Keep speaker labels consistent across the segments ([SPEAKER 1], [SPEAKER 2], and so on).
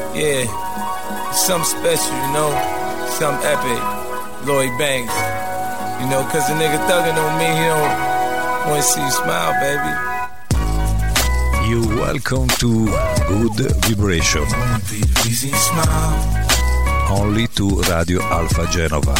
[SPEAKER 1] Yeah, something special, you know, something epic. Lloyd Banks, you know, cause the nigga thuggin' on me, he don't wanna see you smile, baby.
[SPEAKER 2] You welcome to Good Vibration. Only to Radio Alpha Genova.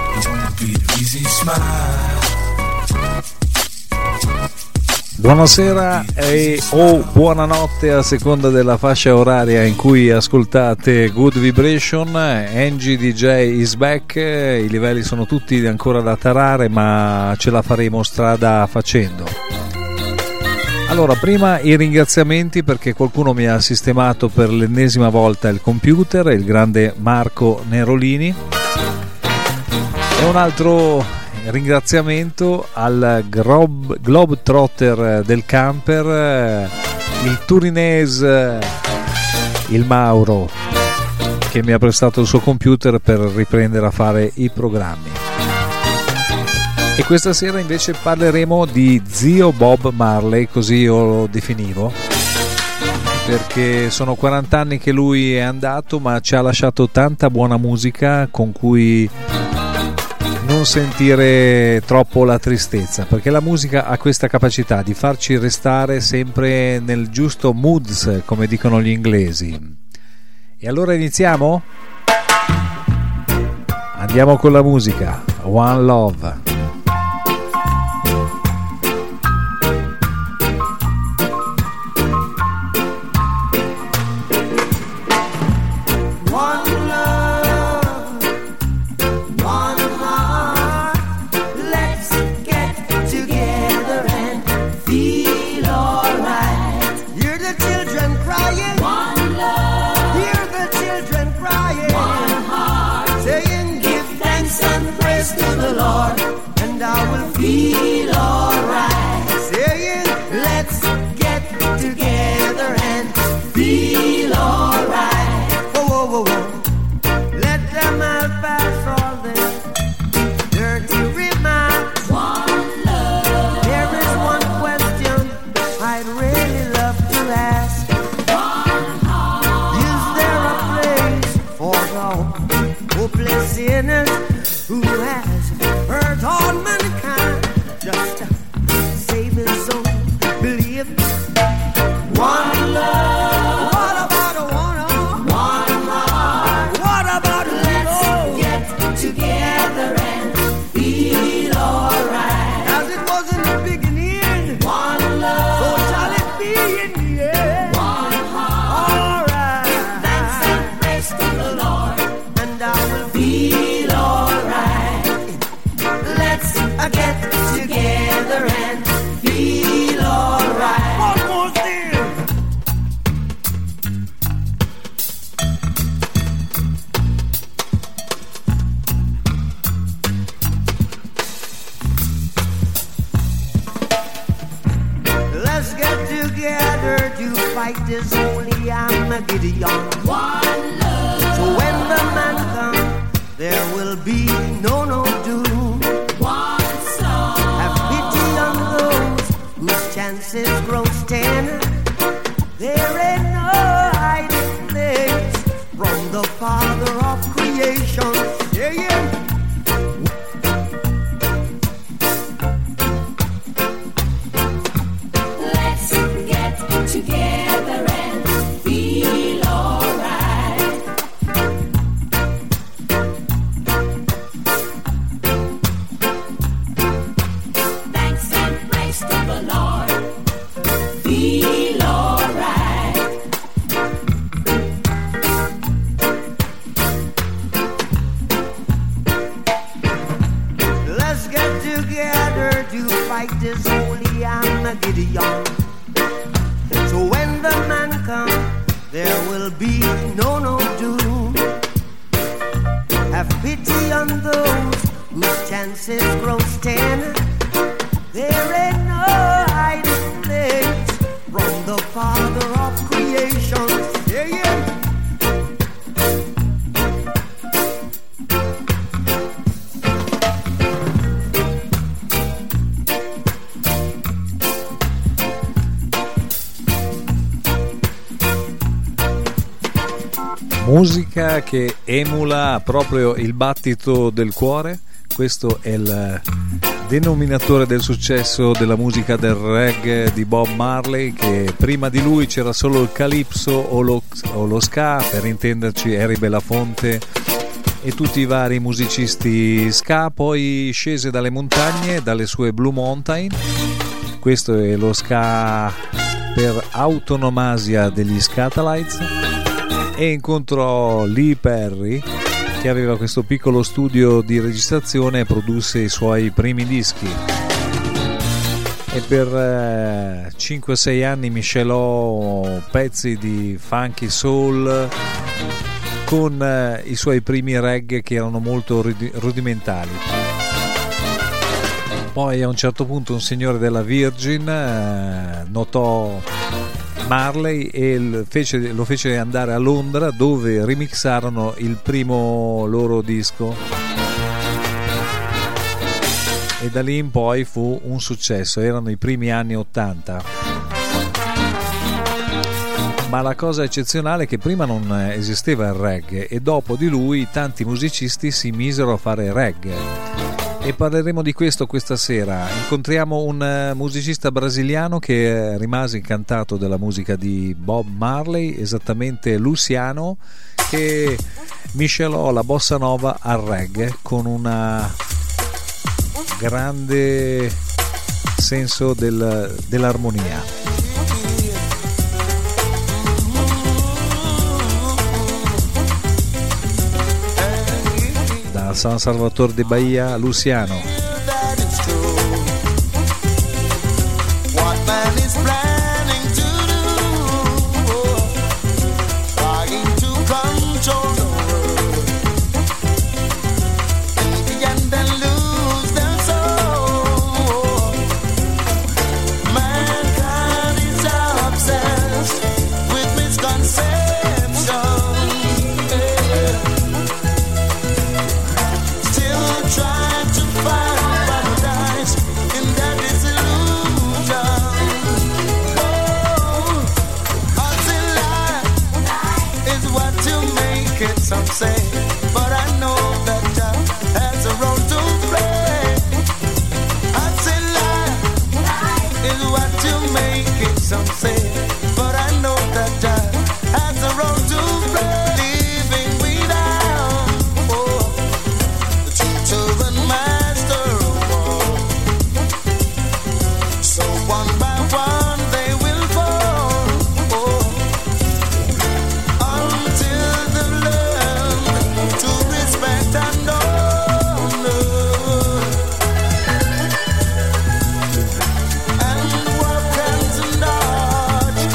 [SPEAKER 2] Buonasera o buonanotte a seconda della fascia oraria in cui ascoltate Good Vibration. Angie DJ is back. I livelli sono tutti ancora da tarare, ma ce la faremo strada facendo. Allora, prima i ringraziamenti, perché qualcuno mi ha sistemato per l'ennesima volta il computer, il grande Marco Nerolini, e un altro ringraziamento al Globetrotter del camper, il turinese, il Mauro, che mi ha prestato il suo computer per riprendere a fare i programmi. E questa sera invece parleremo di zio Bob Marley, così io lo definivo, perché sono 40 anni che lui è andato, ma ci ha lasciato tanta buona musica con cui non sentire troppo la tristezza, perché la musica ha questa capacità di farci restare sempre nel giusto moods, come dicono gli inglesi. E allora iniziamo? Andiamo con la musica. One Love. Musica che emula proprio il battito del cuore. Questo è il denominatore del successo della musica del reggae di Bob Marley, che prima di lui c'era solo il calypso o lo ska, per intenderci Harry Belafonte e tutti i vari musicisti ska. Poi scese dalle montagne, dalle sue Blue Mountain. Questo è lo ska per autonomasia degli Skatalites, e incontrò Lee Perry, che aveva questo piccolo studio di registrazione e produsse i suoi primi dischi, e per 5-6 anni miscelò pezzi di funky soul con i suoi primi reggae, che erano molto rudimentali. Poi a un certo punto un signore della Virgin notò Marley e lo fece andare a Londra, dove remixarono il primo loro disco, e da lì in poi fu un successo. Erano i primi anni 80. Ma la cosa eccezionale è che prima non esisteva il reggae, e dopo di lui tanti musicisti si misero a fare reggae. E parleremo di questo questa sera. Incontriamo un musicista brasiliano che rimase incantato della musica di Bob Marley, esattamente Luciano, che miscelò la bossa nova al reggae con una grande senso dell'armonia. San Salvador de Bahia, Luciano.
[SPEAKER 3] Some say, but I know that God has a role to play. I say life is what you make it. Some say, but I know that God has a role to play. Living without the teacher and master of all. So one by one they will fall until the to respect and honor and work hands and heart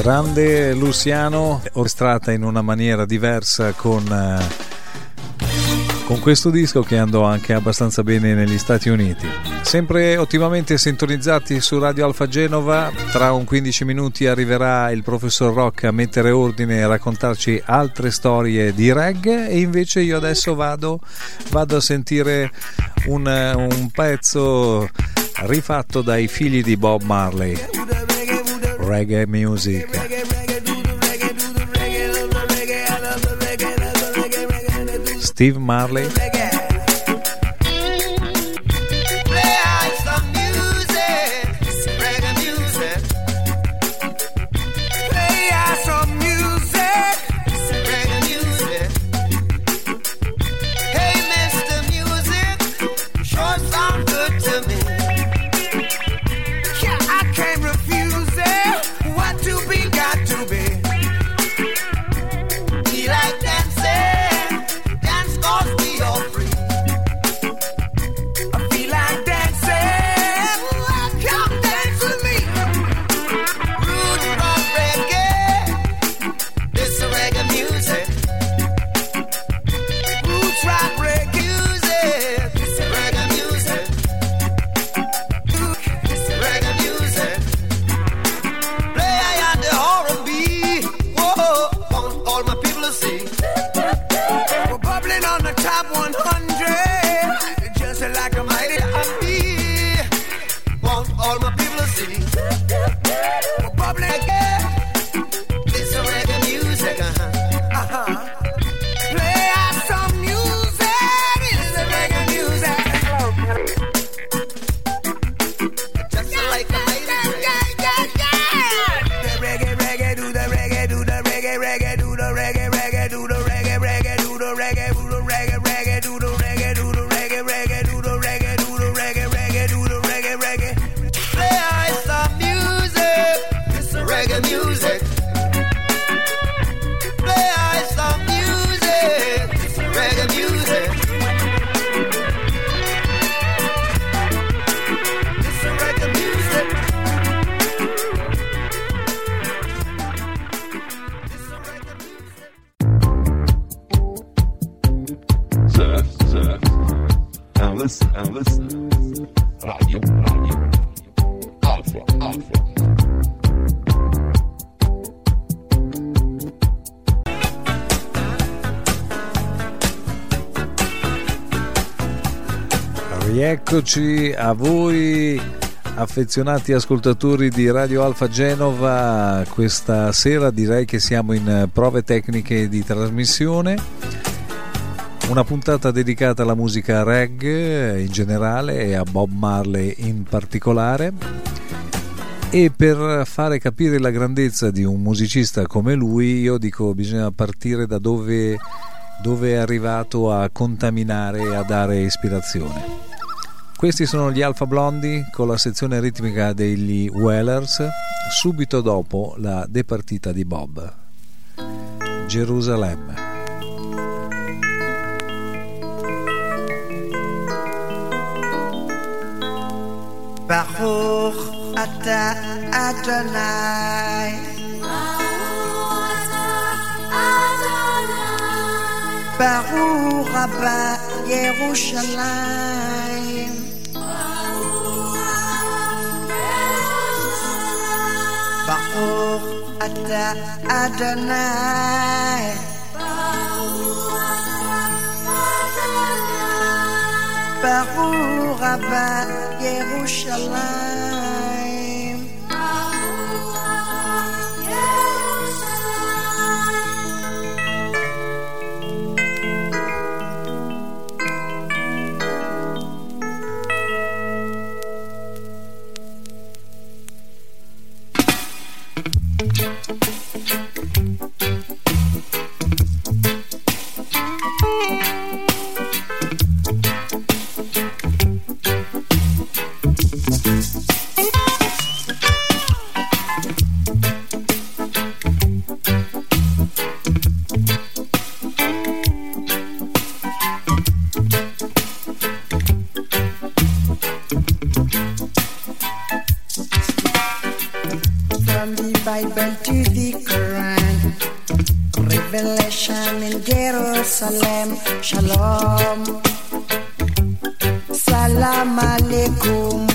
[SPEAKER 2] grande Luciano, orchestrata in una maniera diversa con questo disco che andò anche abbastanza bene negli Stati Uniti. Sempre ottimamente sintonizzati su Radio Alfa Genova, tra un 15 minuti arriverà il professor Rock a mettere ordine e a raccontarci altre storie di reggae, e invece io adesso vado a sentire un pezzo rifatto dai figli di Bob Marley, Reggae Music. Steve Marley.
[SPEAKER 4] Radio Alfa.
[SPEAKER 2] Rieccoci a voi affezionati ascoltatori di Radio Alfa Genova. Questa sera direi che siamo in prove tecniche di trasmissione. Una puntata dedicata alla musica reggae in generale e a Bob Marley in particolare, e per fare capire la grandezza di un musicista come lui io dico bisogna partire da dove è arrivato a contaminare e a dare ispirazione. Questi sono gli Alpha Blondy con la sezione ritmica degli Wailers, subito dopo la departita di Bob. Gerusalemme.
[SPEAKER 3] Baruch Ata Adonai, Baruch Abba Yerushalayim, Baruch Ata Adonai, Baruch Abba Yerushalayim.
[SPEAKER 5] Revelation in Jerusalem. Shalom. Salam alaikum.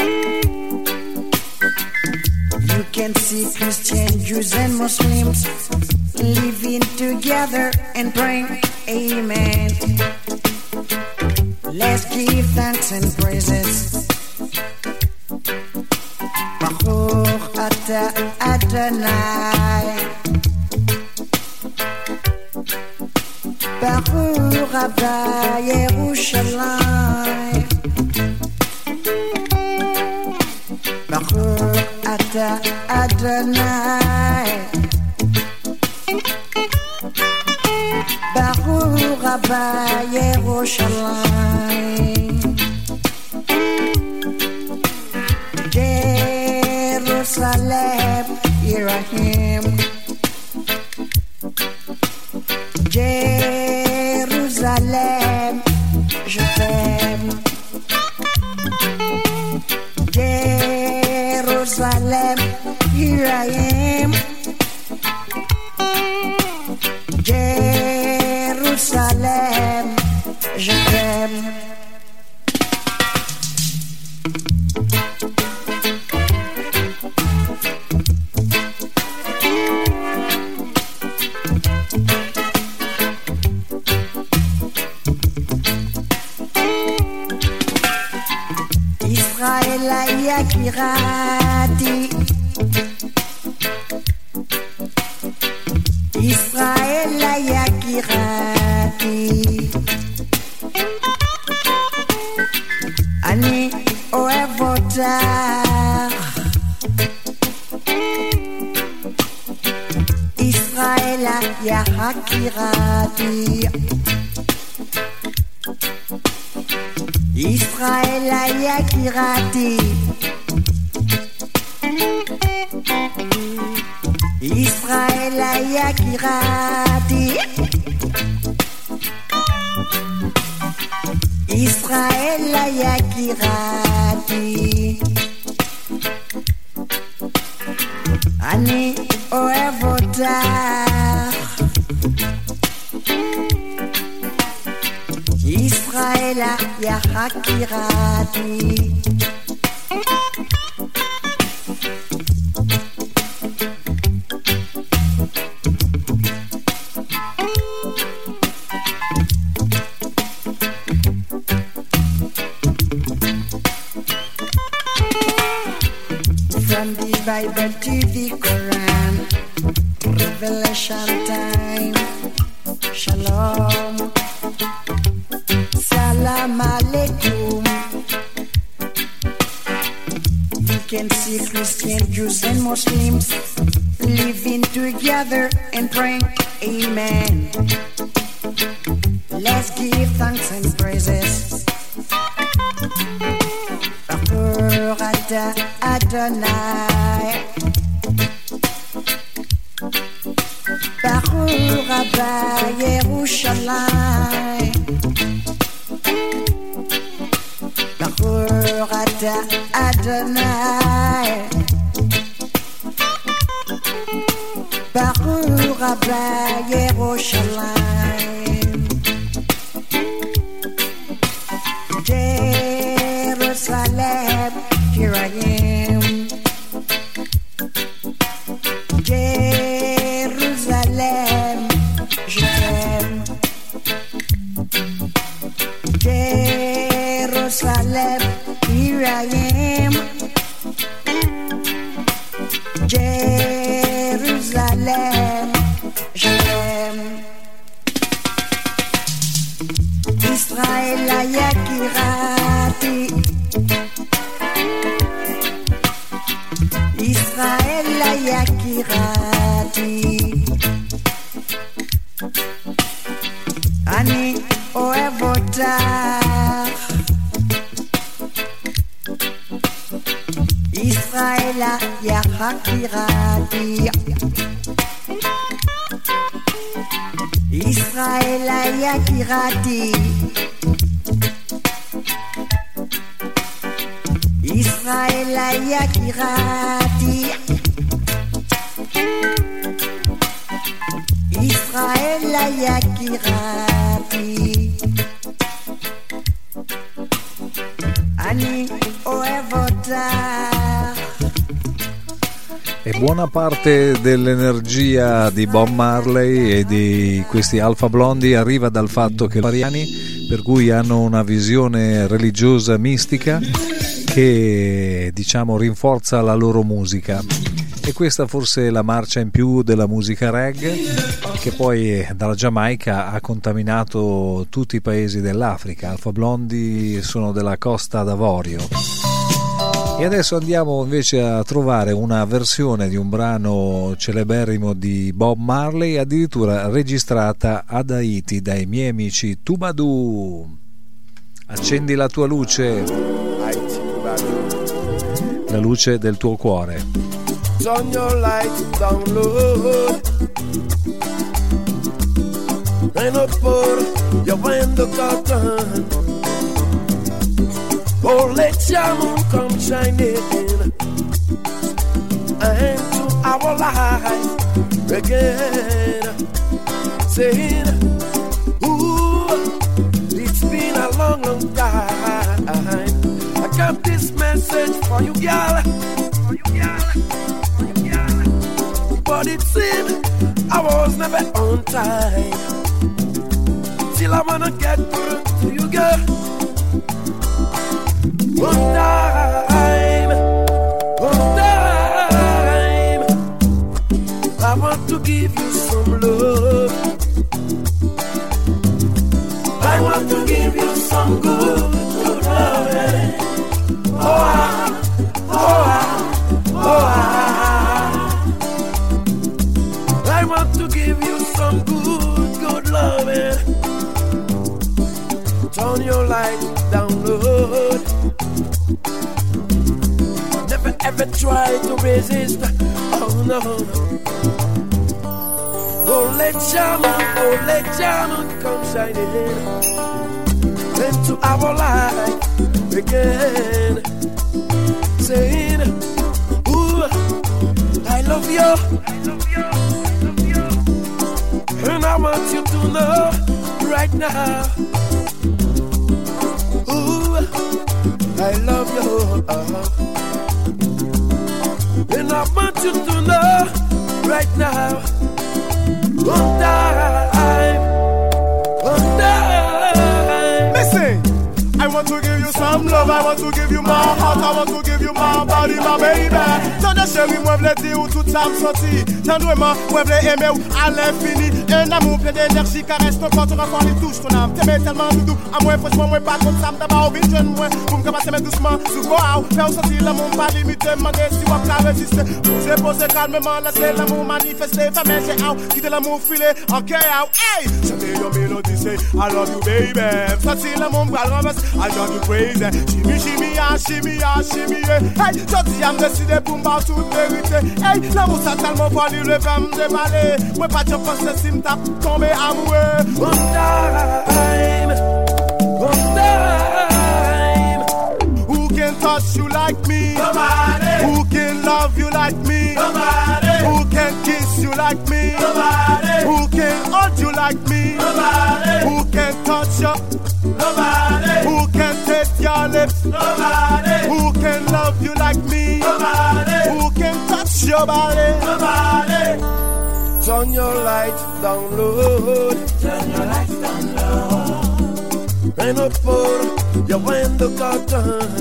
[SPEAKER 5] You can see Christian, Jews and Muslims living together and praying. Amen. Let's give thanks and praises. Baruch Ata Adonai. Baruch Abba Yerushalayim. Baruch Ata Adonai. Baruch Abba Yerushalayim. Jerusalem, here I am. Jerusalem, je t'aime. Jerusalem, here I am. Jerusalem, je t'aime. Israël Yakirati. Israël Yakirati. Ani Oevotar. Israël Yakirati. Israël Yakirati. Israël Yakirati. Israël Yakirati. Ani Oevotar. Israël Yakirati. From the Bible to the Quran, Revelation time. Shalom. Salam alaikum. You can see Christian, Jews and Muslims living together and praying. Amen. Let's give thanks and praises. Baruch Ata Adonai. Baruch Abba Yerushalayim. Baruch Ata Adonai. Baruch Abba Yerushalayim. Jerusalem, here I am. Jerusalem, je t'aime. Jerusalem, here I am. Jerusalem, je t'aime. Israël Yakirati. Israël Yakirati. Ani Oevotar. Israël Yakirati. Israël Yakirati. Israël Yakirati. Raela Yakirapi Ani Oevota.
[SPEAKER 2] E buona parte dell'energia di Bob Marley e di questi Alpha Blondy arriva dal fatto che variani, per cui hanno una visione religiosa mistica che diciamo rinforza la loro musica, e questa forse è la marcia in più della musica reggae, che poi dalla Giamaica ha contaminato tutti i paesi dell'Africa. Alpha Blondy sono della Costa d'Avorio. E adesso andiamo invece a trovare una versione di un brano celeberrimo di Bob Marley, addirittura registrata ad Haiti dai miei amici Tubadou. Accendi la tua luce, la luce del tuo cuore.
[SPEAKER 6] Turn your light down low and up for your window curtain. Oh, let your moon come shining into our life again. Saying, ooh, it's been a long, long time. I got this message for you, girl. For you, girl. For you, girl. But it seemed I was never on time. Still I wanna get through to you, girl. One time, I want to give you some love. I want to give you some good, good love. I want to give you some good, good love. Turn your light down low. Never ever try to resist. Oh no, no. Oh let Jaman come shining into our life again. Saying, ooh, I love you, and I want you to know right now. Ooh, I love you, and I want you to know right now. One time.
[SPEAKER 7] Listen, I want to give you some love, I want to give you my heart, I want to give you my body, my baby. Tande chérie, moi v'le dire où tout ça me sorti. Tendrement, moi v'le aimer ou à l'infini. Un amour plein d'énergie, caresse ton corps, ton enfant, il touche ton âme. T'aimer tellement doudou, à moi franchement, moi pas comme ça, m'd'abord, vite jeune, moi. Pour m'capasser mais doucement, sous quoi, faire sortir l'amour, pas limité, demander si on peut résister. J'ai posé calmement, laisser l'amour manifester, faire mes j'ai out, quitter l'amour filer, ok, out, hey! J'aime your melody, say, I love you, baby. Sortir l'amour, m'bral renverse, I love you crazy. Shimmy, shimmy, ah, shimmy, ah, shimmy, yeah. Hey, j'dis, I'm décidé pour m'bar toute vérité. Hey, l'amour ça tellement fort, il le fait m'déballer. Moi pas de penser si m'tape tomber amoureux.
[SPEAKER 6] One time.
[SPEAKER 7] Who can touch you like me?
[SPEAKER 6] Nobody.
[SPEAKER 7] Who can love you like me?
[SPEAKER 6] Nobody.
[SPEAKER 7] Who can kiss you like me?
[SPEAKER 6] Nobody.
[SPEAKER 7] Who can hold you like me?
[SPEAKER 6] Nobody.
[SPEAKER 7] Who can touch you?
[SPEAKER 6] Nobody.
[SPEAKER 7] Who can taste your lips?
[SPEAKER 6] Nobody.
[SPEAKER 7] Who can love you like me?
[SPEAKER 6] Nobody.
[SPEAKER 7] Who can touch your body?
[SPEAKER 6] Nobody. Turn your lights down low. Turn your lights down low. And up for your window curtain.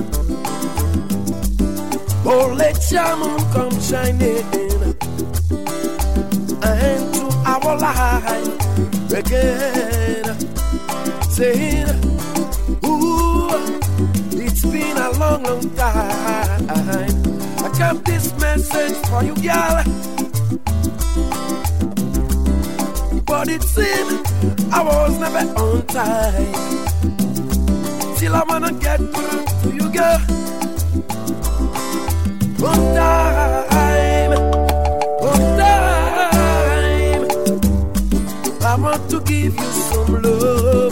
[SPEAKER 6] Oh, let your moon come shining into our life again. Saying, ooh, it's been a long, long time. I got this message for you, girl. But it seemed I was never on time. Still I wanna get through to you, girl. One time. I want to give you some love.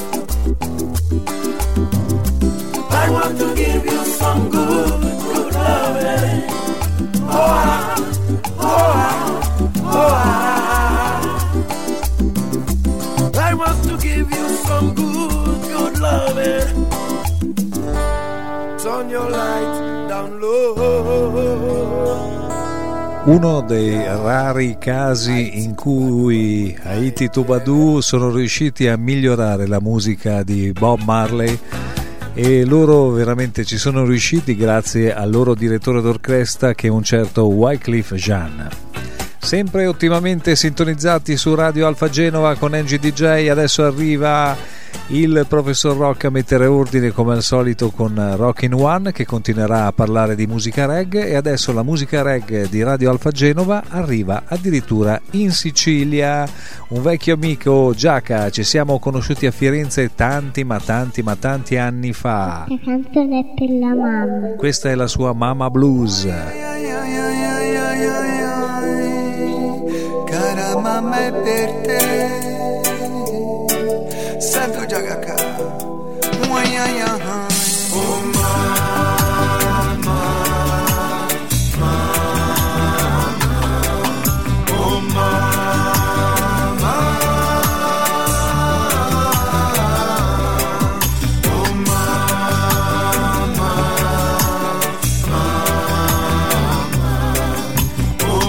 [SPEAKER 6] I want to give you some good, good love. want to give you some good loving. Turn your light down low.
[SPEAKER 2] Uno dei rari casi in cui Haiti Tubadou sono riusciti a migliorare la musica di Bob Marley, e loro veramente ci sono riusciti grazie al loro direttore d'orchestra, che è un certo Wyclef Jean. Sempre ottimamente sintonizzati su Radio Alfa Genova con Angie DJ. Adesso arriva il professor Rock a mettere ordine come al solito con Rockin' One, che continuerà a parlare di musica reggae, e adesso la musica reggae di Radio Alfa Genova arriva addirittura in Sicilia. Un vecchio amico, Giaca, ci siamo conosciuti a Firenze tanti anni fa.
[SPEAKER 8] La canzone è per la mamma.
[SPEAKER 2] Questa è la sua Mama Blues.
[SPEAKER 3] Cara mamma è per te. Sento già cacà. Oh mamma, oh mamma, oh mamma, oh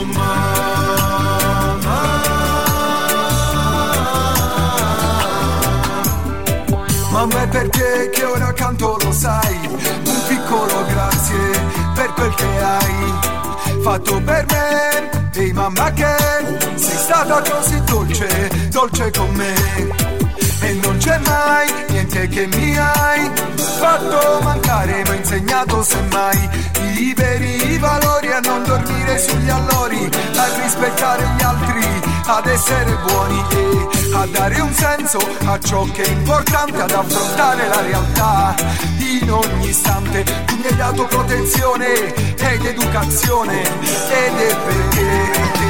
[SPEAKER 3] mamma è per te che ora canto, lo sai, un piccolo grazie per quel che hai fatto per me. Ehi mamma, che sei stata così dolce, dolce con me, e non c'è mai niente che mi hai fatto mancare, mi hai insegnato semmai i veri valori, a non dormire sugli allori, a rispettare gli altri, ad essere buoni e a dare un senso a ciò che è importante, ad affrontare la realtà in ogni istante. Tu mi hai dato protezione ed educazione, ed è perché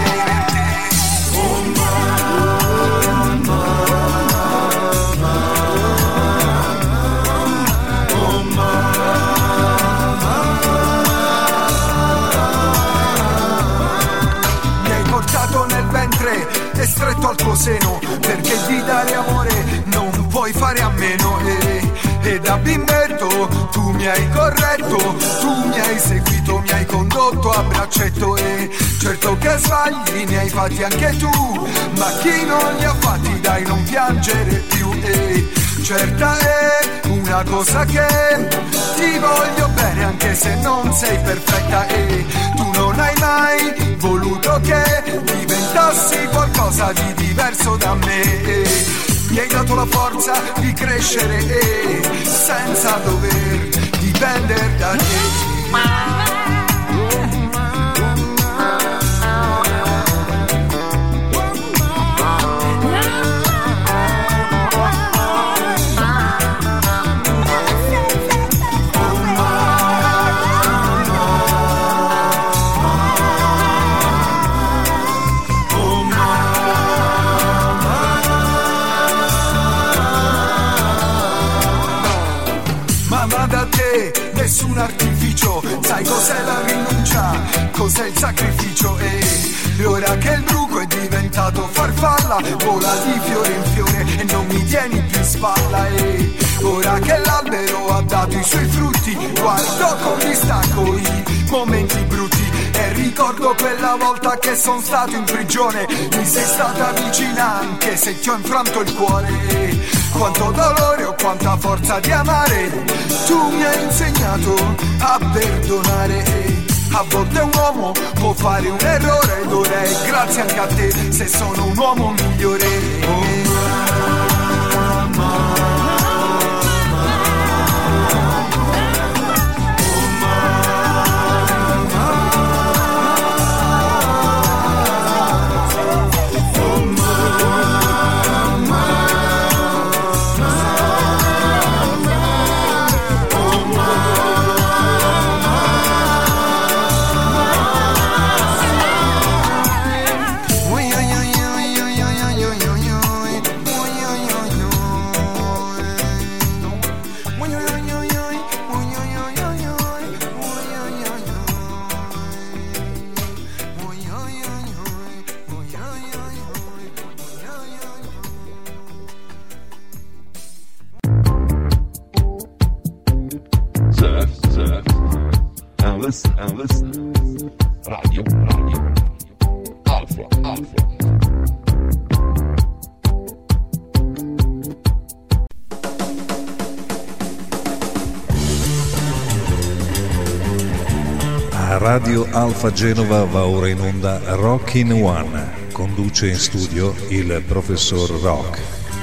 [SPEAKER 3] e stretto al tuo seno, perché di dare amore non puoi fare a meno, e da bimbetto tu mi hai corretto, tu mi hai seguito, mi hai condotto a braccetto, e certo che sbagli ne hai fatti anche tu, ma chi non li ha fatti dai non piangere più, e certa è una cosa, che ti voglio bene anche se non sei perfetta, e tu non hai mai voluto che diventassi qualcosa di diverso da me, e mi hai dato la forza di crescere, e senza dover dipendere da te. Nessun artificio, sai cos'è la rinuncia, cos'è il sacrificio, e ora che il bruco è diventato farfalla, vola di fiore in fiore e non mi tieni più in spalla, e ora che l'albero ha dato i suoi frutti, guardo con distacco i momenti brutti, e ricordo quella volta che sono stato in prigione, mi sei stata vicina anche se ti ho infranto il cuore, e quanto dolore o quanta forza di amare, tu mi hai insegnato a perdonare, e a volte un uomo può fare un errore, ed ora è grazie anche a te se sono un uomo migliore.
[SPEAKER 4] listen. Radio Alpha.
[SPEAKER 2] A Radio Alfa Genova va ora in onda Rockin' One. Conduce in studio il professor Rock.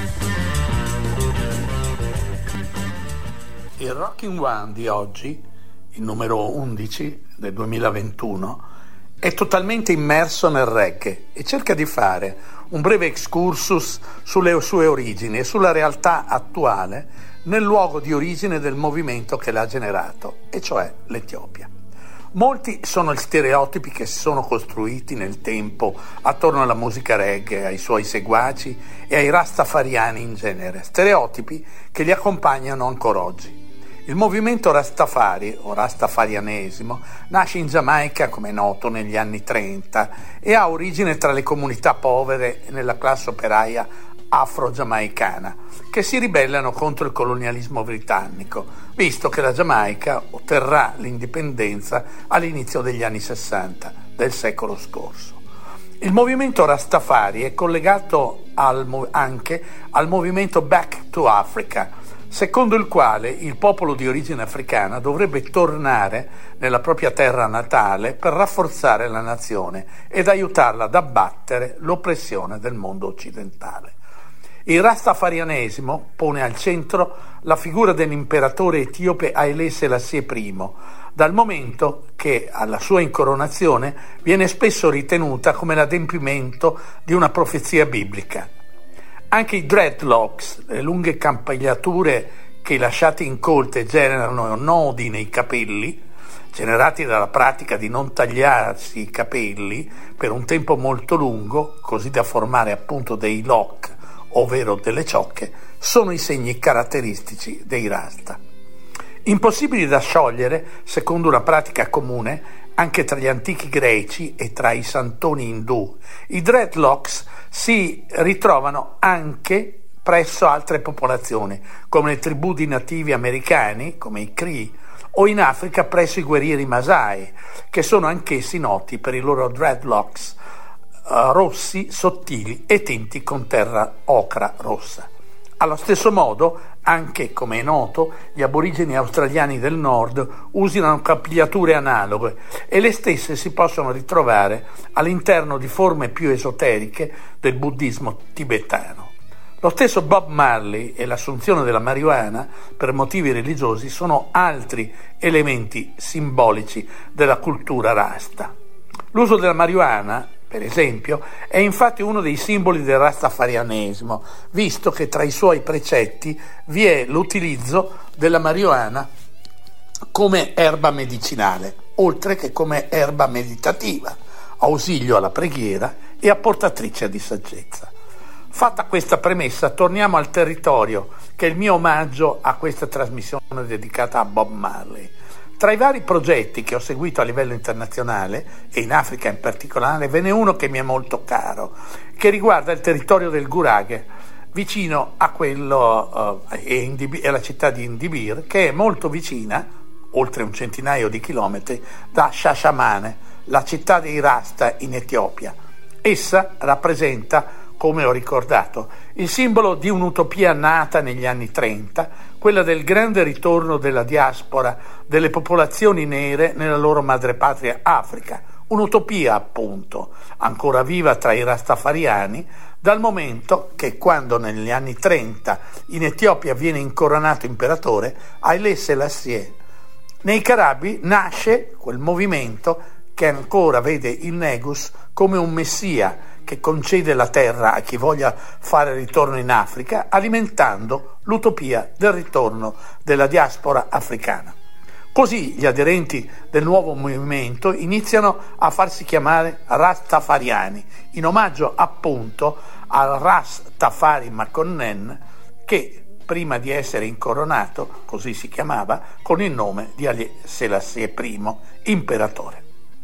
[SPEAKER 9] Il Rockin' One di oggi, il numero 11 del 2021, è totalmente immerso nel reggae e cerca di fare un breve excursus sulle sue origini e sulla realtà attuale nel luogo di origine del movimento che l'ha generato, e cioè l'Etiopia. Molti sono gli stereotipi che si sono costruiti nel tempo attorno alla musica reggae, ai suoi seguaci e ai rastafariani in genere, stereotipi che li accompagnano ancora oggi. Il movimento Rastafari o rastafarianesimo nasce in Giamaica, come è noto, negli anni 30 e ha origine tra le comunità povere e nella classe operaia afro-giamaicana che si ribellano contro il colonialismo britannico, visto che la Giamaica otterrà l'indipendenza all'inizio degli anni 60 del secolo scorso. Il movimento Rastafari è collegato anche al movimento Back to Africa, secondo il quale il popolo di origine africana dovrebbe tornare nella propria terra natale per rafforzare la nazione ed aiutarla ad abbattere l'oppressione del mondo occidentale. Il rastafarianesimo pone al centro la figura dell'imperatore etiope Haile Selassie I, dal momento che alla sua incoronazione viene spesso ritenuta come l'adempimento di una profezia biblica. Anche i dreadlocks, le lunghe campagliature che lasciate incolte generano nodi nei capelli, generati dalla pratica di non tagliarsi i capelli per un tempo molto lungo, così da formare appunto dei lock, ovvero delle ciocche, sono i segni caratteristici dei rasta. Impossibili da sciogliere, secondo una pratica comune, anche tra gli antichi greci e tra i santoni indù, i dreadlocks si ritrovano anche presso altre popolazioni, come le tribù di nativi americani, come i Cree, o in Africa presso i guerrieri Masai, che sono anch'essi noti per i loro dreadlocks rossi, sottili e tinti con terra ocra rossa. Allo stesso modo, anche come è noto, gli aborigeni australiani del nord usano capigliature analoghe e le stesse si possono ritrovare all'interno di forme più esoteriche del buddismo tibetano. Lo stesso Bob Marley e l'assunzione della marijuana per motivi religiosi sono altri elementi simbolici della cultura rasta. L'uso della marijuana, per esempio, è infatti uno dei simboli del rastafarianesimo, visto che tra i suoi precetti vi è l'utilizzo della marijuana come erba medicinale, oltre che come erba meditativa, ausilio alla preghiera e apportatrice di saggezza. Fatta questa premessa, torniamo al territorio, che è il mio omaggio a questa trasmissione dedicata a Bob Marley. Tra i vari progetti che ho seguito a livello internazionale, e in Africa in particolare, ve n'è uno che mi è molto caro, che riguarda il territorio del Gurage, vicino a quello e la città di Indibir, che è molto vicina, oltre un centinaio di chilometri, da Shashamane, la città dei Rasta in Etiopia. Essa rappresenta, come ho ricordato, il simbolo di un'utopia nata negli anni 30, quella del grande ritorno della diaspora delle popolazioni nere nella loro madrepatria Africa, un'utopia appunto, ancora viva tra i rastafariani, dal momento che quando negli anni 30 in Etiopia viene incoronato imperatore Haile Selassie. Nei Caraibi nasce quel movimento che ancora vede il Negus come un messia che concede la terra a chi voglia fare ritorno in Africa, alimentando l'utopia del ritorno della diaspora africana. Così gli aderenti del nuovo movimento iniziano a farsi chiamare Rastafariani, in omaggio appunto al Ras Tafari Makonnen, che prima di essere incoronato, così si chiamava, con il nome di Haile Selassie I, imperatore.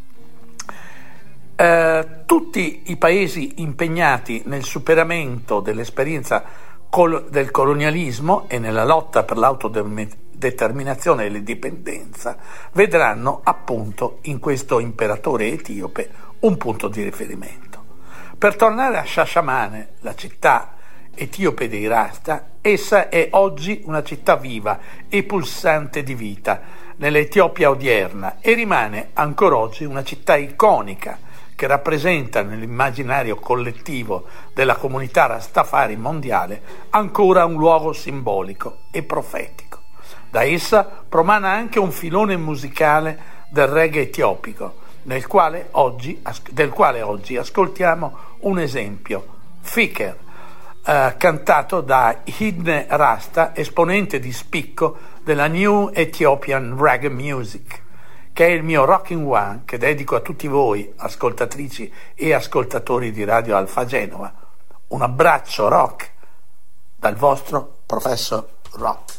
[SPEAKER 9] Tutti i paesi impegnati nel superamento dell'esperienza del colonialismo e nella lotta per determinazione e l'indipendenza, vedranno appunto in questo imperatore etiope un punto di riferimento. Per tornare a Shashamane, la città etiope dei Rasta, essa è oggi una città viva e pulsante di vita nell'Etiopia odierna e rimane ancora oggi una città iconica che rappresenta nell'immaginario collettivo della comunità Rastafari mondiale ancora un luogo simbolico e profetico. Da essa promana anche un filone musicale del reggae etiopico, del quale oggi ascoltiamo un esempio, Fikr, cantato da Hidne Rasta, esponente di spicco della New Ethiopian Reggae Music, che è il mio Rocking One che dedico a tutti voi, ascoltatrici e ascoltatori di Radio Alfa Genova. Un abbraccio rock dal vostro Professor Rock.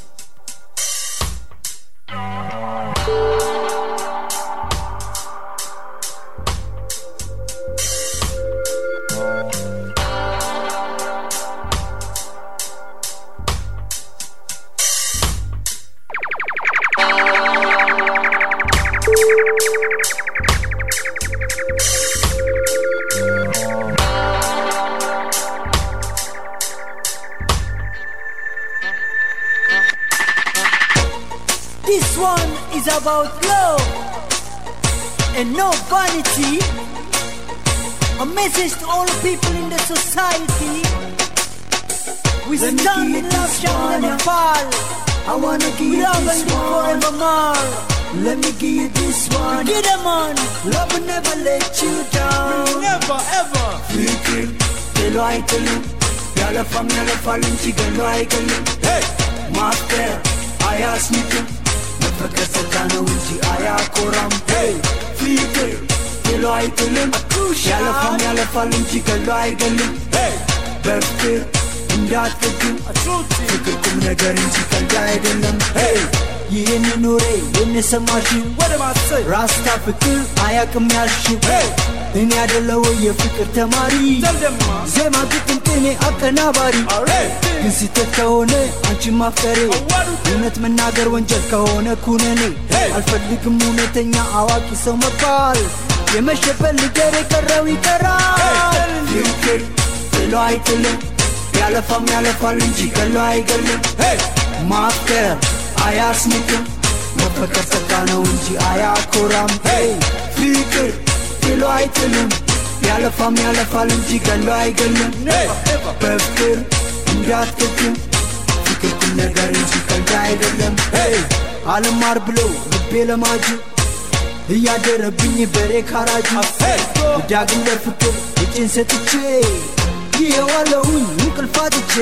[SPEAKER 10] This one is about love and no vanity. A message to all the people in the society. We stand in love, shall never fall.
[SPEAKER 11] I wanna give you this one.
[SPEAKER 10] Forevermore.
[SPEAKER 11] Let me give you this one.
[SPEAKER 10] Get them on.
[SPEAKER 11] Love will never let you down.
[SPEAKER 10] Never ever.
[SPEAKER 11] Fikir, telo ay telo. Yala fam yala falun chigalo ay galo. Hey, master, I ask me to. Nafaka sakana unchi aya koram. Hey, fikir, telo ay telo. Yala fam yala falun chigalo ay galo. Hey, befir, እንዳትገኝ ፍቅር ቁም ነገር እንጂ ቀልድ አይደለም።
[SPEAKER 10] Hey, ይህን ኑሬ የነሰማሽው ራስታ ፍቅር አያቅም ያልሽው እኔ ያደለው የፍቅር ተማሪ ዜማ ግጥም ቅኔ አቀናባሪ ግን ስህተት ከሆነ አንቺን ማፍቀሬ እውነት መናገር ወንጀል ከሆነ ኩነኔ አልፈልግም እውነተኛ አዋቂ ሰው መባል የመሸበት ልገር የቀረው ይቀራል።
[SPEAKER 11] ፍቅር ጥሎ አይጥልም ያለፋም ያለፋል እንጂ ገሎ አይገልም። ማፍቀር አያስንቅም መፈቀር ጸጋ ነው እንጂ አያኮራም። ፍቅር ጥሎ አይጥልም ያለፋም ያለፋል እንጂ ገሎ አይገልም። በፍቅር እንዳትገድም ፍቅር ቁም ነገር እንጂ ቀልድ አይደለም። አልማር ብሎ ልቤ ለማጁ እያደረብኝ በሬ ካራጁ ዳግም ለፍቅር እጄን ሰጥቼ ይኸዋለሁኝ እንቅልፋትቼ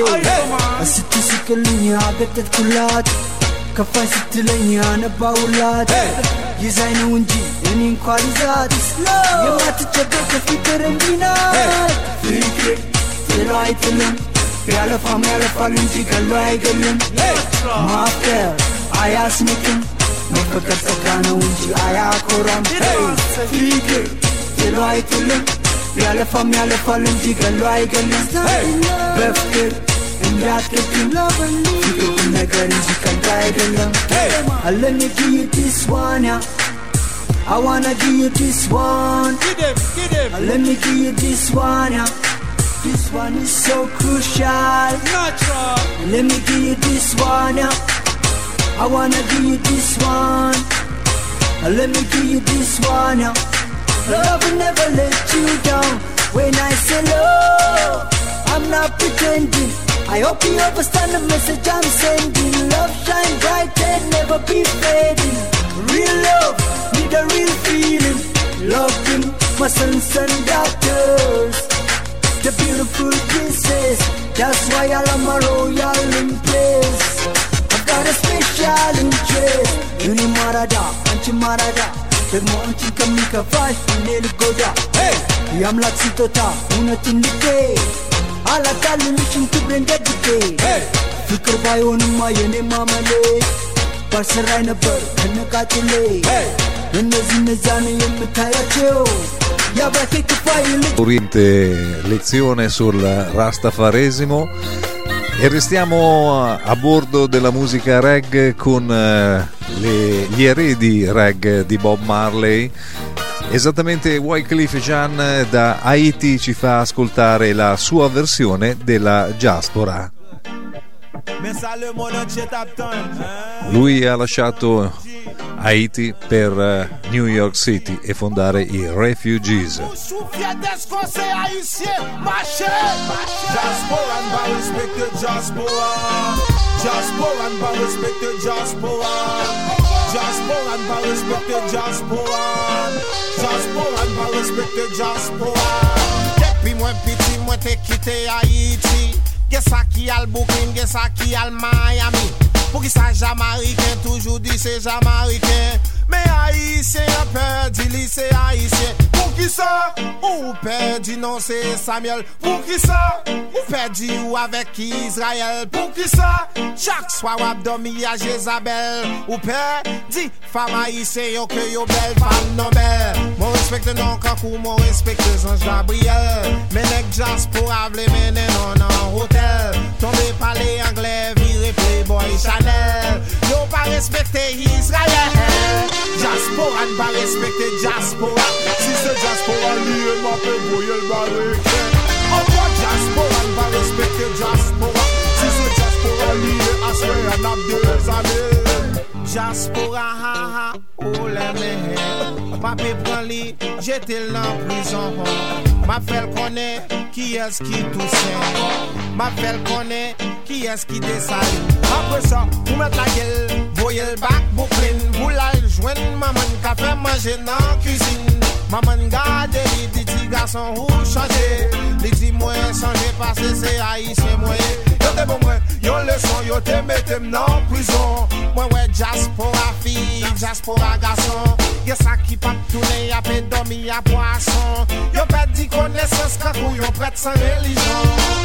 [SPEAKER 11] ስትስቅልኝ አገጠጥኩላት ከፋኝ ስትለኝ አነባውላት ይዛኝ ነው እንጂ እኔ እንኳን ይዛት የማትጨበቅ ፍቅር እንዲህ ናት። ፍቅር ጥሎ አይጥልም ያለፋም ያለፋል እንጂ ገሎ አይገልም። ማፍቀር አያስንቅም መፈቀር ጸጋ ነው እንጂ አያኮራም። ፍቅር ጥሎ አይጥልም ያለፋም ያለፋል እንጂ ገሎ አይገልም። በፍቅር እንዳትገድም ፍቅር ቁም ነገር እንጂ ቀልድ አይደለም።
[SPEAKER 10] Let me give you this one, yeah. I wanna give you this one.
[SPEAKER 7] Get him.
[SPEAKER 10] Let me give you this one, yeah. This one is so crucial.
[SPEAKER 7] Natural.
[SPEAKER 10] Let me give you this one, yeah. I wanna give you this one. Let me give you this one, yeah. Love will never let you down. When I say love, I'm not pretending. I hope you understand the message I'm sending. Love shine bright and never be fading. Real love, need a real feeling. Loving my sons and daughters, the beautiful princess. That's why I love my royal in place. I've got a special interest. You marada, anchi marada. ደግሞ አንቺን ከሚከፋሽ እኔ ልጎዳ የአምላክ ስጦታ እውነትን ልኬ አላታልልሽም ክብሬን ደግፌ ፍቅር ባይሆንማ የኔ ማመሌ ባልሰራይ ነበር ከነቃጭሌ እነዚህ እነዛን የምታያቸው የአባቴ ክፋይ ልጅ
[SPEAKER 2] Oriente lezione sul rastafaresimo E restiamo a bordo della musica reggae con gli eredi reggae di Bob Marley. Esattamente, Wyclef Jean da Haiti ci fa ascoltare la sua versione della Diaspora. Lui ha lasciato Haiti per New York City e fondare i Refugees.
[SPEAKER 12] Depuis moi petit, moi t'ai quitté Haïti. Qu'est ça qui a le Brooklyn, qu'est ça qui a le Miami. Pour qui ça Jamaïcain, toujours dit c'est Jamaïcain. Mais Haïtien a perdu, c'est Haïtien. Pour qui ça? Ou perdu, non c'est Samuel. Pour qui ça? Ou perdu ou avec Israël. Pour qui ça? Chaque soir ou abdomi à Jézabel. Ou perdu, femme haïtienne, yo que yo belle, femme non belle. Mon respecte non kakou, mon respecte Ange Gabriel. Mais nèg diaspora vle mène non en hôtel. Tombé par les anglais, viré Playboy Chanel. Yo pas respecté Israël. Diaspora ne pas respecter diaspora. Si c'est diaspora lié, m'a fait brouiller le barrique. Encore diaspora ne pas respecter diaspora. Si c'est diaspora lié, à ce qu'on a deux années. Diaspora, ha ha, oh les mèches. Papi prend li, j'étais en prison. Ma fait connaît qui est-ce qui tousse. Ma fait connaît qui est-ce qui descend. Après ça, vous mettez la gueule, voyez le bac, Brooklyn. Vous la joignez, maman, qu'a fait manger dans la cuisine. Maman garde, les petits garçons, où changer. Les petits moyens changer parce que c'est haïtien moyen. Yo te bon moi, yo leçon, yo te mette dans prison. Moi ouais, diaspora fille, diaspora garçon. Y'a ça qui pas tourner, y'a pas dormi, y'a poisson. Yo perdu connaissance quand yo prête sans religion.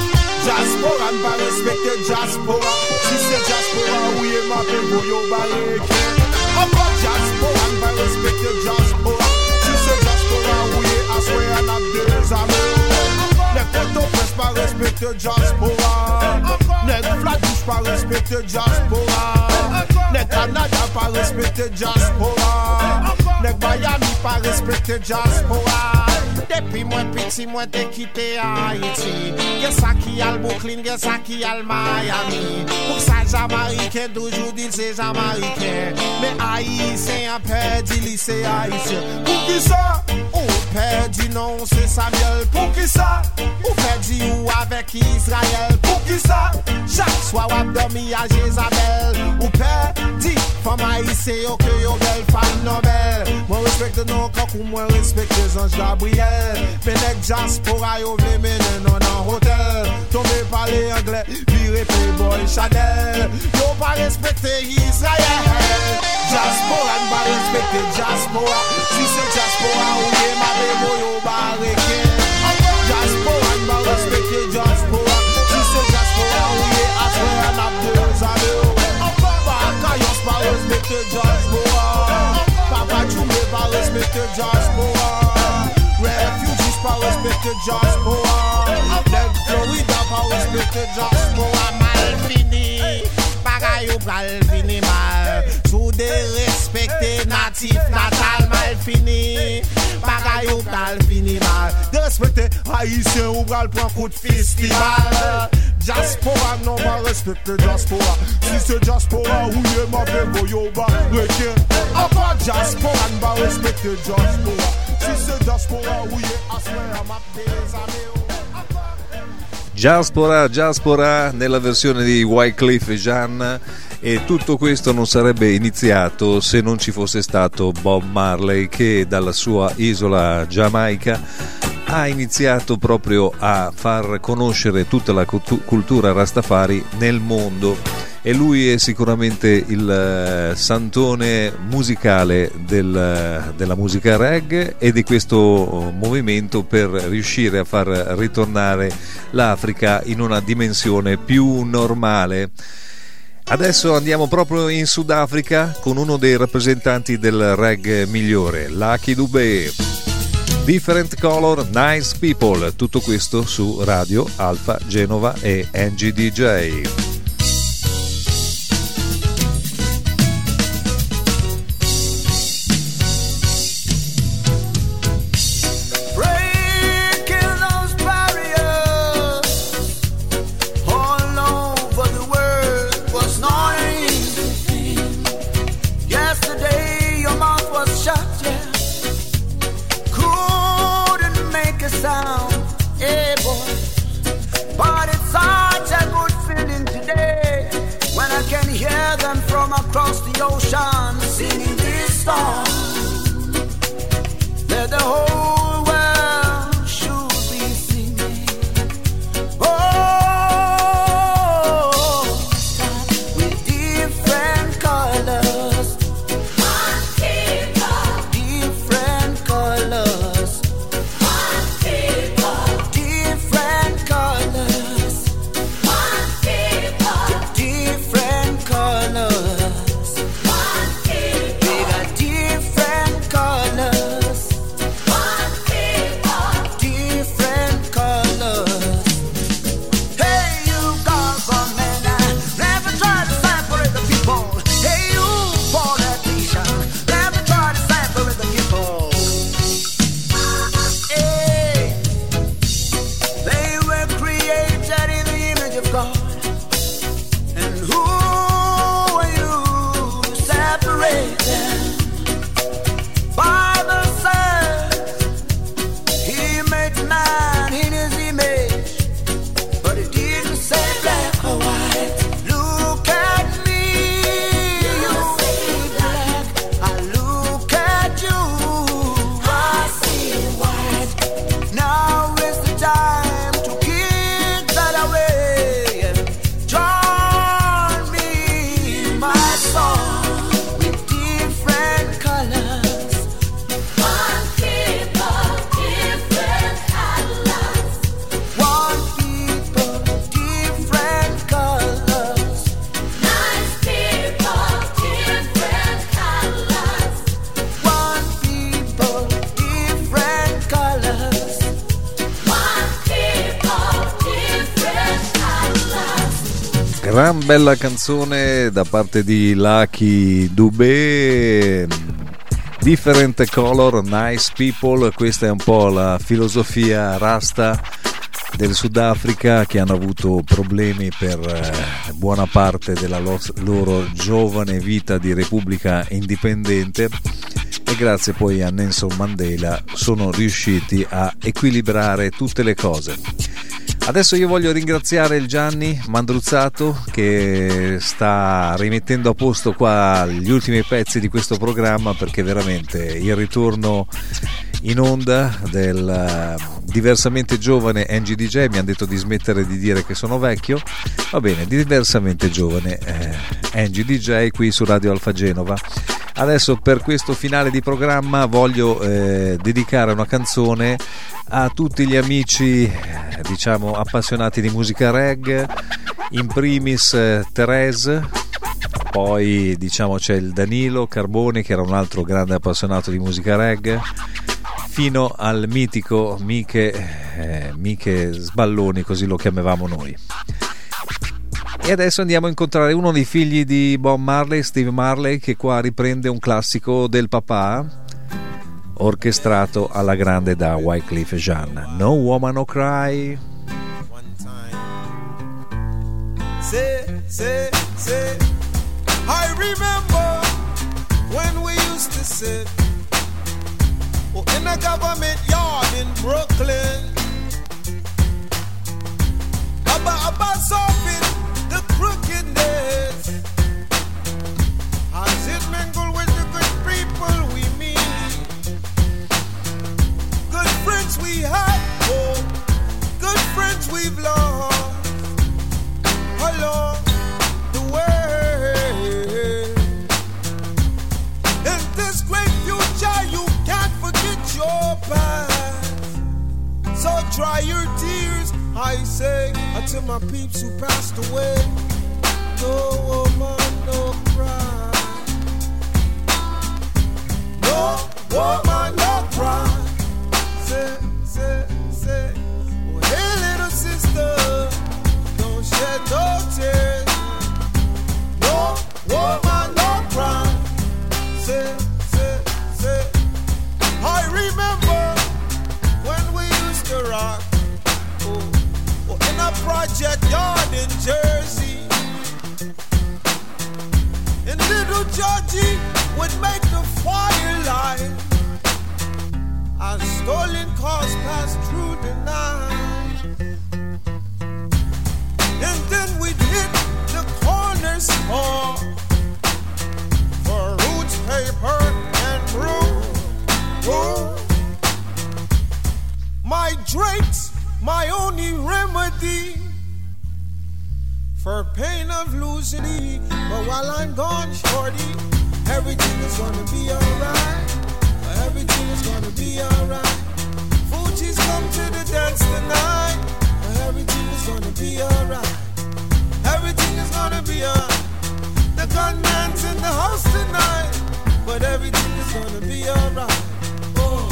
[SPEAKER 12] Diaspora ne pas respecter diaspora. Si c'est diaspora, oui, et ma paix pour yo barrique. Encore diaspora ne pas respecter diaspora. Si c'est diaspora, oui, à soi, y'en a deux amis. Nèg Port-au-Prince pas respecter diaspora. Nèg Flatbush pas respecter diaspora. Nèg Canada pas respecter diaspora. Nèg Miami pas respecter diaspora. Depuis moi petit, moi t'ai quitté Haïti. Y'a ça qui a le Brooklyn, y'a ça qui a le Miami. Pour ça Jamaïcain, toujours dit c'est Jamaïcain. Mais Haïtien a perdu, c'est Haïtien. Pour qui ça? Ou perdu, non c'est Samuel. Pour qui ça? Ou perdu ou avec Israël. Pour qui ça? Chaque soir ou abdomi à Jézabel. Ou perdu, femme haïtienne, yo que yo belle, femme non belle. Moi respecte non kakou, moi respecte Ange Gabriel. Mais nèg diaspora yo vle mène non en hôtel. Tombé par les anglais, viré Playboy Chanel. Yo pas respecté Israël. Diaspora ne pas respecté diaspora. Si c'est diaspora ou yé ma bébo yo barricade. Diaspora ne pas respecté diaspora. Si c'est diaspora ou yé à ce qu'on a deux années. Bakayos pas respecté diaspora. Papa Djoumé pas respecté diaspora. Refugees pas respecté diaspora. Nèg Florida pas respecté diaspora. Mal fini, bagay ou pral fini mal. Sous des respectés natifs natal mal fini. Bagay ou pral fini mal. De respecter haïtien ou pral prend coup de festival. Diaspora non pas respecter diaspora. Si c'est diaspora ou yé ma bébo yo ba requin. Encore diaspora ne pas respecter diaspora. Si c'est diaspora ou yé assoir à ma des amis.
[SPEAKER 2] Diaspora nella versione di Wyclef Jean. E tutto questo non sarebbe iniziato se non ci fosse stato Bob Marley, che dalla sua isola Giamaica ha iniziato proprio a far conoscere tutta la cultura Rastafari nel mondo. E lui è sicuramente il santone musicale della musica reggae e di questo movimento per riuscire a far ritornare l'Africa in una dimensione più normale. Adesso andiamo proprio in Sudafrica con uno dei rappresentanti del reggae migliore, Lucky Dube. Different Color, Nice People, tutto questo su Radio Alfa Genova e Angie DJ.
[SPEAKER 11] Across the ocean, singing this song that the whole world should be singing. Oh, with different colors, one people, different colors, one people, different colors, one people, different colors.
[SPEAKER 2] Gran bella canzone da parte di Lucky Dubé, Different Color, Nice People. Questa è un po' la filosofia rasta del Sudafrica, che hanno avuto problemi per buona parte della loro giovane vita di repubblica indipendente, e grazie poi a Nelson Mandela sono riusciti a equilibrare tutte le cose. Adesso io voglio ringraziare il Gianni Mandruzzato, che sta rimettendo a posto qua gli ultimi pezzi di questo programma, perché veramente il ritorno in onda del diversamente giovane Angie DJ, mi hanno detto di smettere di dire che sono vecchio, va bene, diversamente giovane Angie DJ qui su Radio Alfa Genova. Adesso per questo finale di programma voglio dedicare una canzone a tutti gli amici, diciamo, appassionati di musica reggae, in primis Therese, poi diciamo c'è il Danilo Carboni, che era un altro grande appassionato di musica reggae, fino al mitico Miche Sballoni, così lo chiamavamo noi. E adesso andiamo a incontrare uno dei figli di Bob Marley, Steve Marley, che qua riprende un classico del papà, orchestrato alla grande da Wyclef Jean, No Woman No Cry.
[SPEAKER 13] Say, I remember when we used to sit in a government yard in Brooklyn, about solving the crookedness, as it mingled with the good people we meet, good friends we had, oh, good friends we've lost along the way. In this great future, you can't forget your past, so dry your tears, I say, until my peeps who passed away. No woman, no cry. No woman, no cry. Georgie would make the firelight as stolen cars pass through the night. And then we'd hit the corner store for roots, paper, and brew. My drinks, my only remedy for pain of losing thee. But while I'm gone, shorty, everything is gonna be alright. Everything is gonna be alright. Fuji's come to the dance tonight. Everything is gonna be alright. Everything is gonna be alright. The gunman's in the house tonight, but everything is gonna be alright. Oh,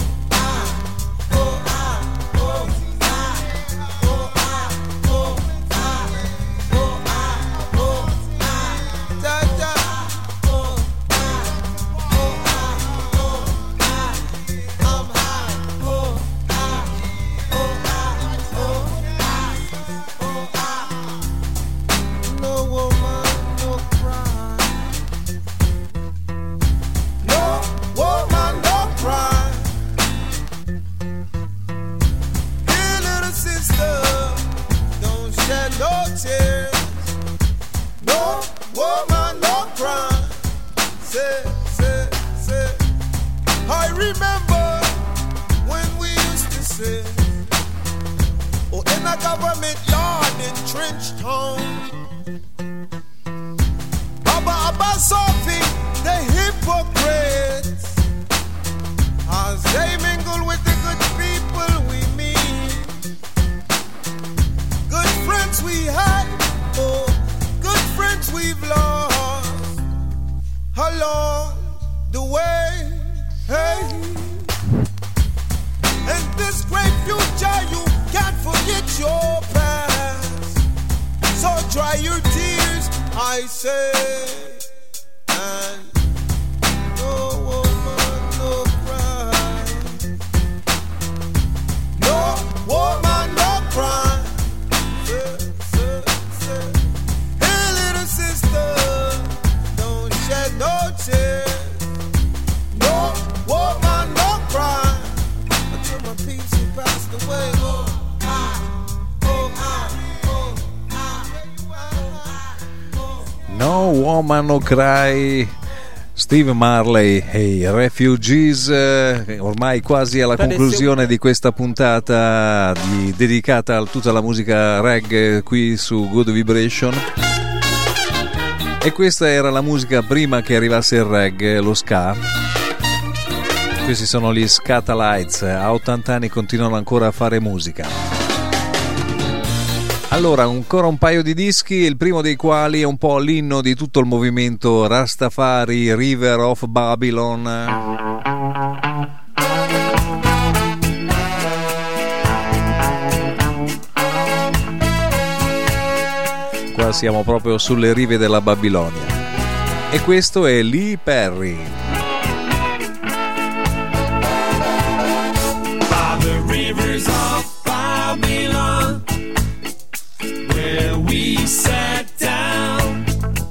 [SPEAKER 13] I remember when we used to say, oh, in a government yard in Trenchtown, Abba Sophie, the hypocrites, as they mingle with the good people we meet. Good friends we had, oh, good friends we've lost along the way. Hey, and this great future, you can't forget your past. So dry your tears, I say, and no woman, no cry. No woman, no cry. Say. Hey, little sister, don't shed no tears. No woman, no cry. Until my peeps who passed away.
[SPEAKER 2] No Woman No Cry, Steve Marley e i Refugees, ormai quasi alla conclusione di questa puntata dedicata a tutta la musica reggae qui su Good Vibration. E questa era la musica prima che arrivasse il reggae, lo ska. Questi sono gli Scatalites, a 80 anni continuano ancora a fare musica. Allora, ancora un paio di dischi, il primo dei quali è un po' l'inno di tutto il movimento Rastafari, River of Babylon. Qua siamo proprio sulle rive della Babilonia. E questo è Lee Perry.
[SPEAKER 14] By the rivers of Babylon, where we sat down,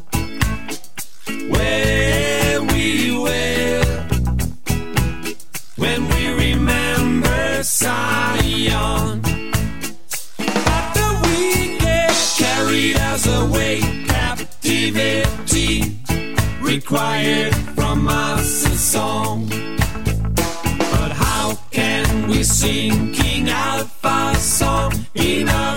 [SPEAKER 14] where we were, when we remember Zion. After we get carried as away, captivity required from us a song. But how can we sing King Alpha's song in a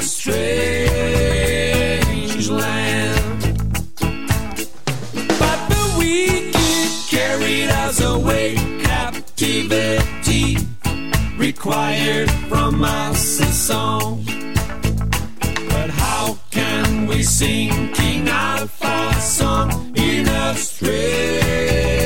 [SPEAKER 14] strange land? But the wicked carried us away, captivity required from us a song. But how can we sing King Alpha's song in a strange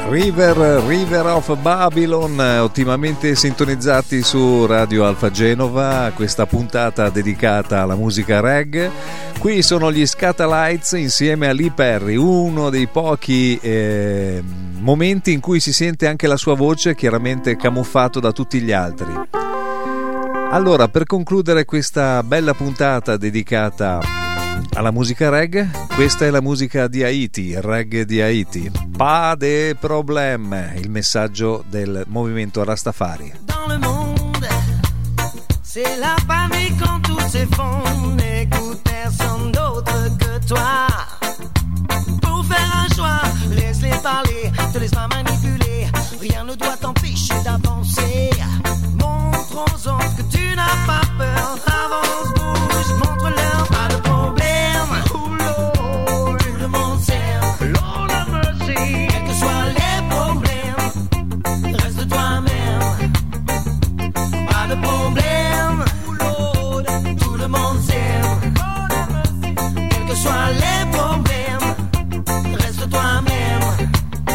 [SPEAKER 2] River of Babylon, ottimamente sintonizzati su Radio Alfa Genova, questa puntata dedicata alla musica reggae. Qui sono gli Scatalites insieme a Lee Perry, uno dei pochi momenti in cui si sente anche la sua voce, chiaramente camuffato da tutti gli altri. Allora, per concludere questa bella puntata dedicata alla musica reggae, questa è la musica di Haiti, il reggae di Haiti. Pas de problème, il messaggio del movimento Rastafari.
[SPEAKER 15] Dans le monde, c'est la famille quand tout s'effondre. N'écoute personne d'autre que toi. Pour faire un choix, laisse-les parler, te laisse pas manipuler. Rien ne doit t'empêcher d'avancer. Montre aux autres que tu n'as pas peur. Avance, bouge, montre-leur pas de problème. Oh Lord, tout le monde s'aime. Lord have mercy. Quels que soient les problèmes, reste toi-même. Pas de problème. Oh Lord, tout le monde s'aime. Quels que soient les problèmes, reste toi-même.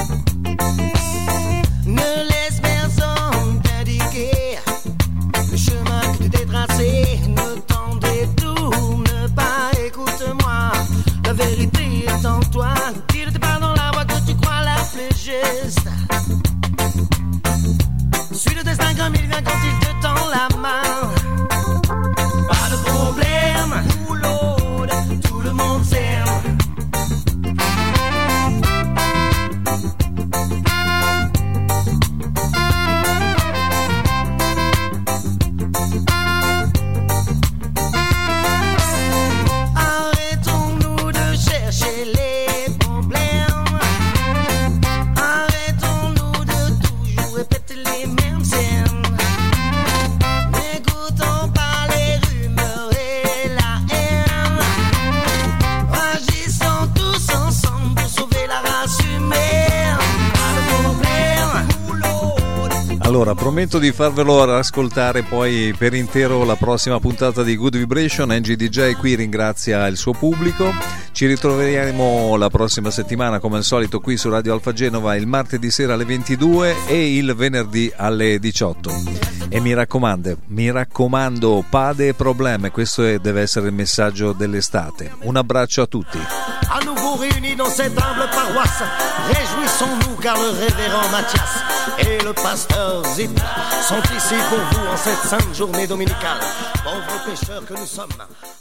[SPEAKER 15] Ne laisse personne t'indiquer le chemin que tu t'es tracé. Ne t'en détourne pas, écoute-moi. La vérité est en toi. Tire tes pas dans la voie que tu crois la plus juste. Suis le destin comme il vient quand il te tend la main. Pas de problème, oh Lord, tout le monde s'aime. Arrêtons-nous de chercher les problèmes. Arrêtons-nous de toujours répéter les mêmes scènes. N'écoutons pas les rumeurs et la haine. Agissons tous ensemble pour sauver la race humaine. Pas de problème, oh Lord.
[SPEAKER 2] Allora, prometto di farvelo ascoltare poi per intero la prossima puntata di Good Vibration. Angie DJ qui ringrazia il suo pubblico. Ci ritroveremo la prossima settimana come al solito qui su Radio Alfa Genova il martedì sera alle 22 e il venerdì alle 18. E mi raccomando, pas de problème, questo deve essere il messaggio dell'estate. Un abbraccio a tutti.
[SPEAKER 15] À nouveau réunis dans cette humble paroisse, réjouissons-nous car le révérend Mathias et le pasteur Zip sont ici pour vous en cette sainte journée dominicale. Pauvres pécheurs que nous sommes,